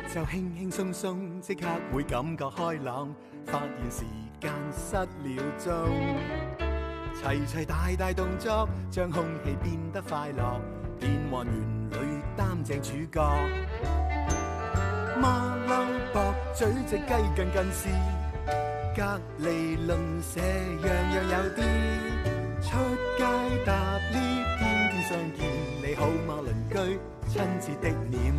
就輕輕鬆鬆，即刻會感覺開朗，發現時間失了蹤。齊齊大大動作，將空氣變得快樂，變幻園裏擔正主角。馬騮駁嘴隻雞近近視，隔離鄰舍樣樣有啲。出街搭 lift， 天天相見，你好嗎鄰居？親切的臉，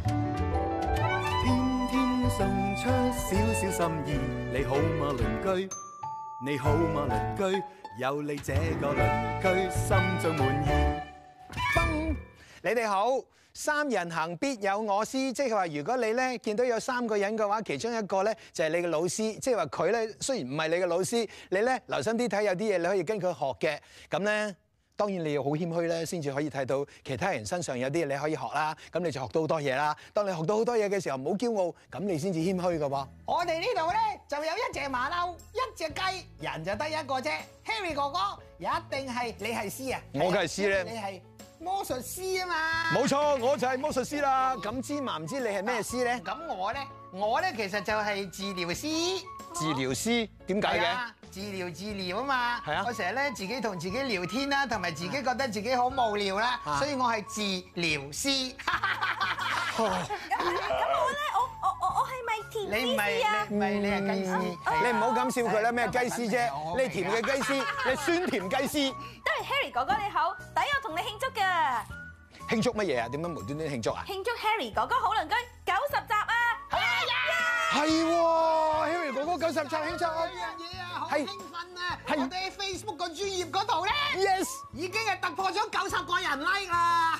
天天送出少少心意，你好嗎鄰居？你好嗎鄰居？有你這個鄰居，心中滿意。 嘣！你哋好，三人行必有我師，即係話如果你咧見到有3個人嘅話，其中一個咧就係你嘅老師，即係話佢咧雖然唔係你嘅老師，你咧留心啲睇，有啲嘢你可以跟佢學嘅。咁咧當然你要好謙虛咧，先至可以睇到其他人身上有啲嘢你可以學啦。咁你就學到好多嘢啦。當你學到好多嘢嘅時候，唔好驕傲，咁你先至謙虛㗎喎。我哋呢度咧就有一隻馬騮，一隻雞，人就得一個啫。Harry 哥哥一定係你係師啊！我梗係師咧，你係魔術師啊嘛！冇錯，我就係魔術師啦。咁芝麻唔知你係咩師咧？咁我咧其實就係治療師。治療師點解嘅？治療啊嘛。係啊。我成日咧自己同自己聊天啦，同埋自己覺得自己好無聊啦，所以我係治療師。 咁我咧，我係咪甜師啊？ 你係雞師。你唔好咁笑佢啦，咩雞師啫？你甜嘅雞師，你酸甜雞師。 都係 Harry 哥哥你好，抵我同你慶祝㗎。 慶祝乜嘢啊？點解無端端慶祝啊？ 慶祝 Harry 哥哥好鄰居90集啊！ 係喎 ，Harry 哥哥90集慶祝。 有樣嘢啊，好興奮啊！我哋喺 Facebook 個專頁嗰度咧 ，yes， 已經係突破咗90個人 like 啦。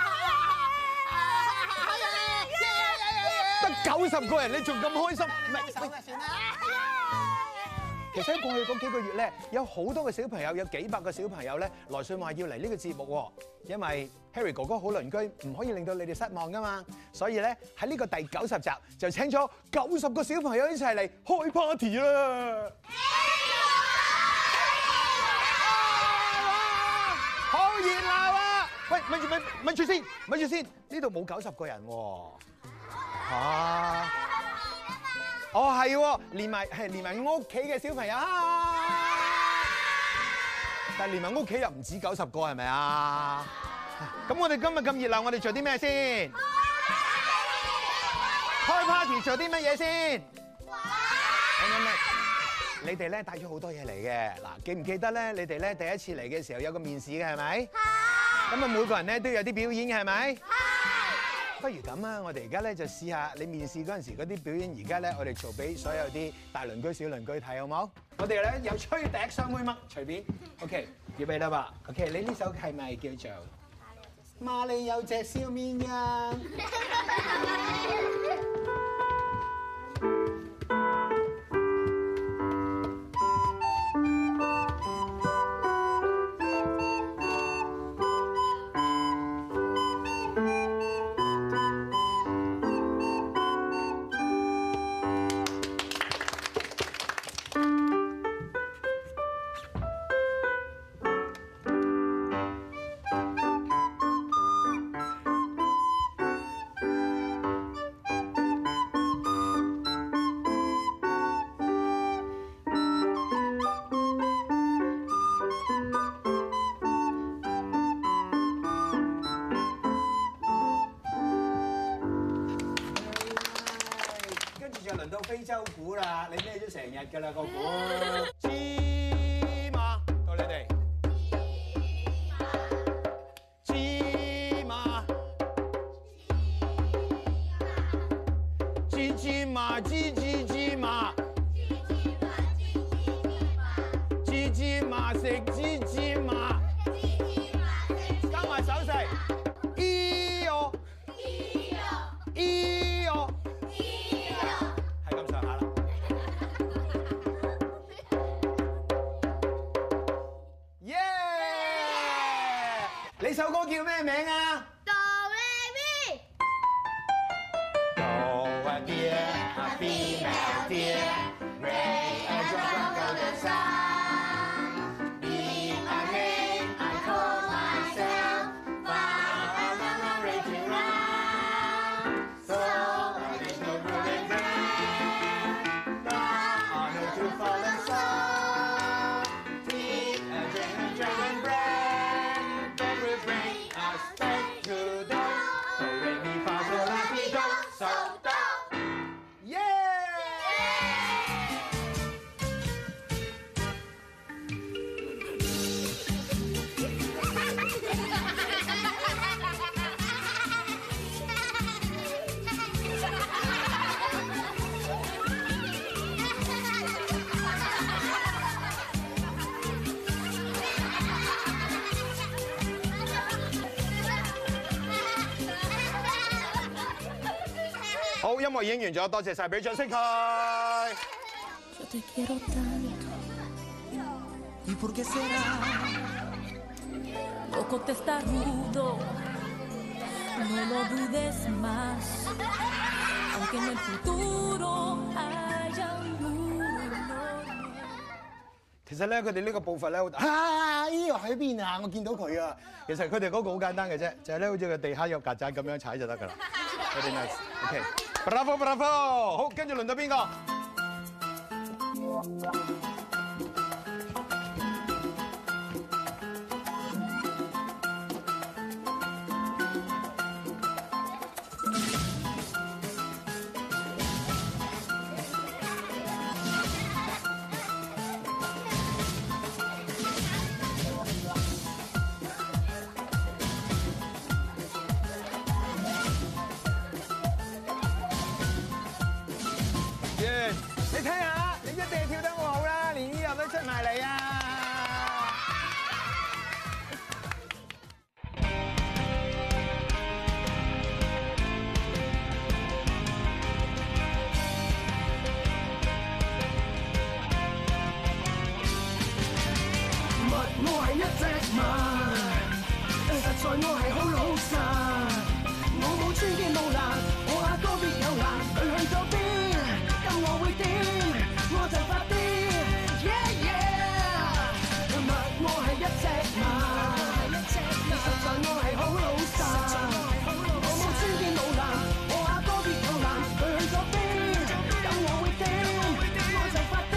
得90個人，你仲咁開心？唔係， 算啦。 其實喺過去嗰幾個月咧，有好多嘅小朋友，有幾百個小朋友咧來信話要嚟呢個節目喎。因為 Harry 哥哥好鄰居唔可以令到你哋失望噶嘛，所以咧喺呢個第90集就請咗90個小朋友一齊嚟開 party 啦！好熱鬧啊！喂，咪住先，呢度冇90個人喎。嚇！哦，係喎，連埋屋企嘅小朋友，但係連埋屋企又唔止90個，係咪啊？咁我哋今日咁熱鬧，我哋做啲咩先？開 party 做啲乜嘢先？你哋咧帶咗好多嘢嚟嘅，嗱，記唔記得咧？你哋咧第一次嚟嘅時候有個面試嘅係咪？係。咁啊，每個人咧都有啲表演嘅係咪？係。不如咁啊，我哋而家咧就試下你面試嗰陣時嗰啲表演，而家咧我哋做俾所有啲大鄰居小鄰居睇好冇？我哋咧有吹笛、雙妹嘜，隨便。OK， 預備啦噃。OK， 你呢首係咪叫做馬里有隻小綿羊？輪到非洲鼓啦，你孭咗成日㗎啦個鼓。芝麻到你哋。芝麻。芝麻。芝麻。芝麻食芝麻。加埋手勢。咿唷。咿唷。你首歌叫咩名啊？ 哆來咪。 哆啊爹啊咪咪爹 ，Ray a jungle the sun。Be a ray, I call myself, far and I'm ready to run. So there's no 好，音樂已經完咗，多謝晒，俾掌聲佢。 Yo te quiero tanto. ¿Y por qué será? Poco testarudo. No lo dudes más. Aunque en el futuro haya un muro. 其實咧，佢哋呢個步伐咧，啊，依個喺邊啊？我見到佢啊！其實佢哋嗰個好簡單嘅啫，就係咧，好似個地下有曱甴咁樣踩就得㗎啦。Very nice，OK，Bravo Bravo， 好，跟住輪到邊個？你睇下，你一定係跳得好好啦，連呢樣都出埋嚟啊！ 我係一隻馬，實在我係好老實，我冇穿肩冇爛，我阿哥別有難，佢去咗邊？咁我會點？我就發癲 ，yeah yeah。今日我係一隻馬，實在我係好老實，我冇穿肩冇爛，我阿哥別有難，佢去咗邊？咁我會點？我就發癲。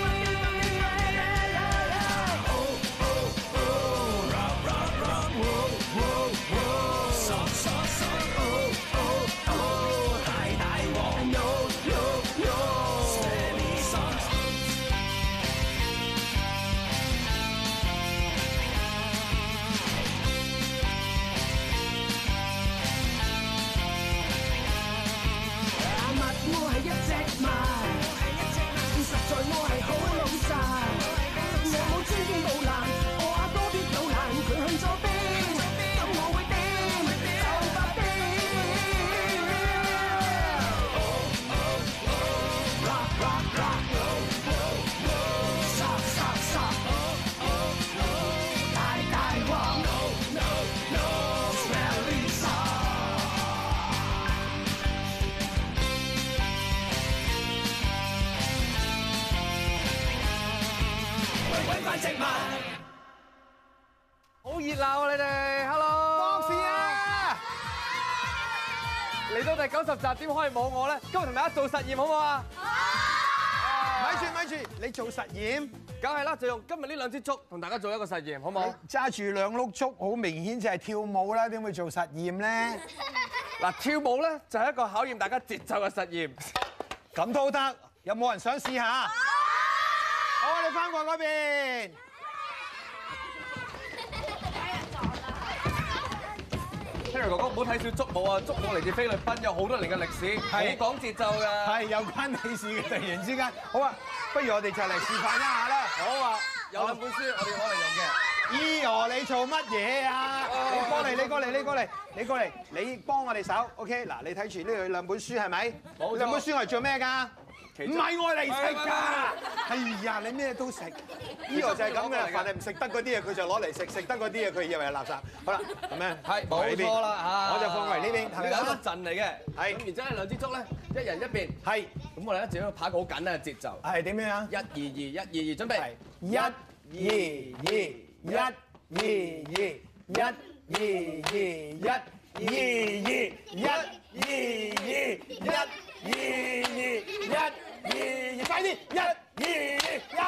好熱鬧啊！你哋 ，Hello， 博士啊！ 嚟到第90集，點可以冇我咧？今日同大家做實驗好唔好啊？ 咪住，你做實驗？ 梗係啦，就用今日呢兩支竹同大家做一個實驗，好唔好？ 揸住兩碌竹，好明顯就係跳舞啦，點會做實驗咧？ 嗱，跳舞咧就係一個考驗大家節奏嘅實驗。 咁都得，有冇人想試下？好，我哋翻過嗰邊。 Harry 哥哥唔好睇小竹舞啊！竹舞嚟自菲律賓，有好多年嘅歷史，好講節奏㗎。 係有關你事嘅，突然之間。好啊，不如我哋就嚟示範一下啦。 好啊，有兩本書我哋攞嚟用嘅。 咦哦，你做乜嘢啊？你過嚟，你幫我哋手。OK， 嗱，你睇住呢兩本書係咪？ 冇錯。 兩本書係做咩㗎？唔係我嚟食㗎。係呀，你咩都食。呢個就係咁嘅啦，凡係唔食得嗰啲嘢，佢就攞嚟食；食得嗰啲嘢，佢以為係垃圾。好啦，咁樣係冇錯啦嚇， 我就放為呢邊，係咪呢個一個陣嚟嘅。 係。 咁然之後咧，兩支竹咧，一人一邊。係。咁我哋咧就要拍一個好簡單嘅節奏。 係點樣啊 ？1 2 2 1 2 2，準備。 1 2 2 1 2 2 1 2 2 1 2 2 1 2 2 1 2 2 1 2，快啲！1 2 2 1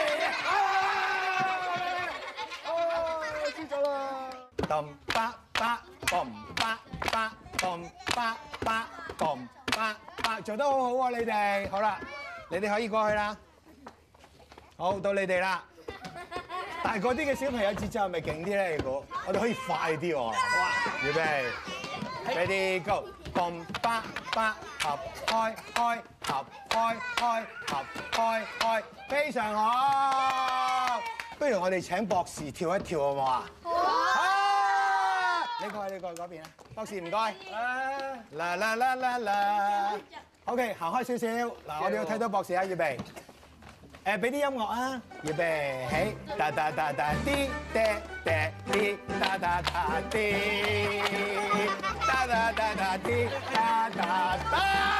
2，輸咗啦！咚巴巴咚巴巴咚巴巴咚巴巴，做得好好啊！你哋好啦，你哋可以過去啦。好，到你哋啦。但係嗰啲嘅小朋友節奏係咪勁啲咧？如果我哋可以快啲喎。好啊，預備 ，ready go，咚巴巴合開開合開開合開開，非常好。不如我哋請博士跳一跳好唔好啊？好。 你過去嗰邊啊，博士唔該。啦啦啦啦啦 ，OK， 行開少少。嗱，我哋要睇到博士啊，預備。俾啲音樂啊，預備起，哒哒哒哒啲嗲嗲啲，哒哒哒啲，哒哒哒哒啲，哒哒哒。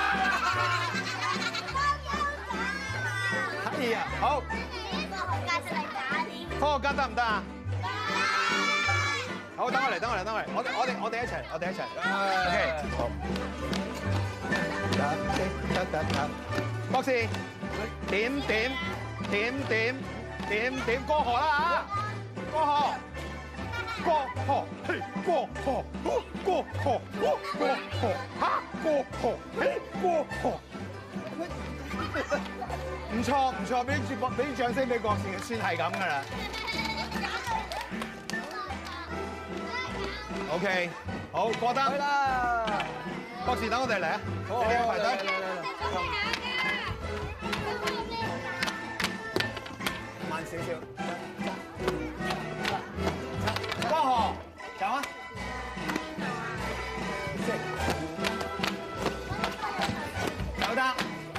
可以啊，好。科學家得唔得啊？好，等我嚟，我哋一齊，OK， 好。博士，點過河啦嚇！過河，嘿，過河，嚇，過河，嘿，過河。唔錯，俾啲掌聲俾博士，算係咁噶啦。OK， 好過得。去啦！博士等我哋嚟啊！好，你排隊。慢少少。過河，走啊！走得。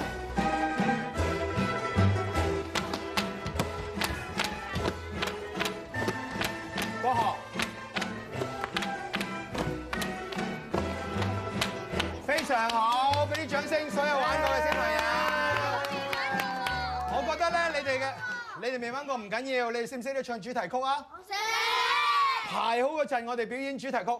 過河。非常好，俾啲掌聲，所有玩過嘅小朋友。我覺得咧，你哋未玩過唔緊要，你哋識唔識得唱主題曲啊？識。排好嗰陣，我哋表演主題曲。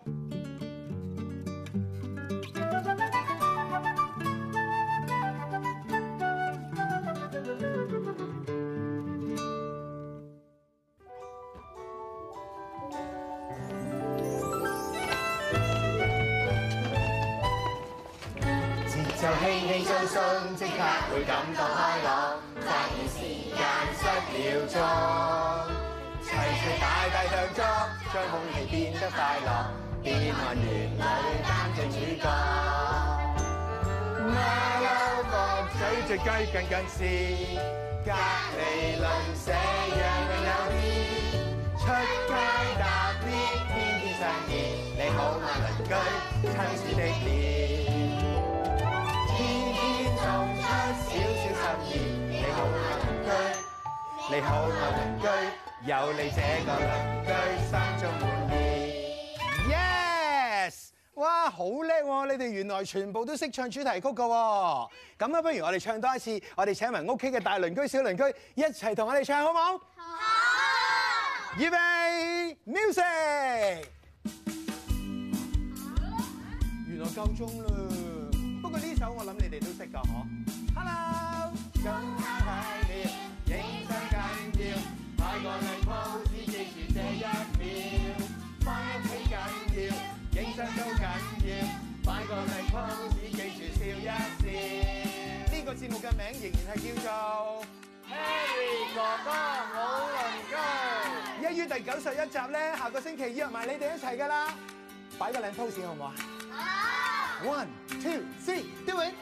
就輕輕鬆鬆，即刻會感到開朗，發現時間失了蹤，齊大大動作，將空氣變得快樂，變幻園裏擔正主角。馬騮駁嘴隻雞近視，隔離鄰舍樣樣有啲，出街搭 lift 天天相見，你好嗎鄰居，親切的臉。送出少少心意，你好嗎鄰居？你好嗎鄰居？有你這個鄰居，心中滿意。Yes！ 哇，好叻喎！你哋原來全部都識唱主題曲㗎喎。咁啊，不如我哋唱多一次，我哋請埋屋企嘅大鄰居、小鄰居一齊同我哋唱，好唔好？好。預備 ，music！ 原來夠鐘啦。不過呢首我諗你哋都識㗎，嗬 ？Hello， 咁快了，影相緊要，擺個靚 pose，記住這一秒，返屋企緊要，影相都緊要，擺個靚 pose，記住笑一笑。呢個節目嘅名仍然係叫做 Harry 哥哥好鄰居。1於第91集咧，下個星期約埋你哋一齊㗎啦，擺個靚 pose 好唔好啊？好。1, 2, 3, do it！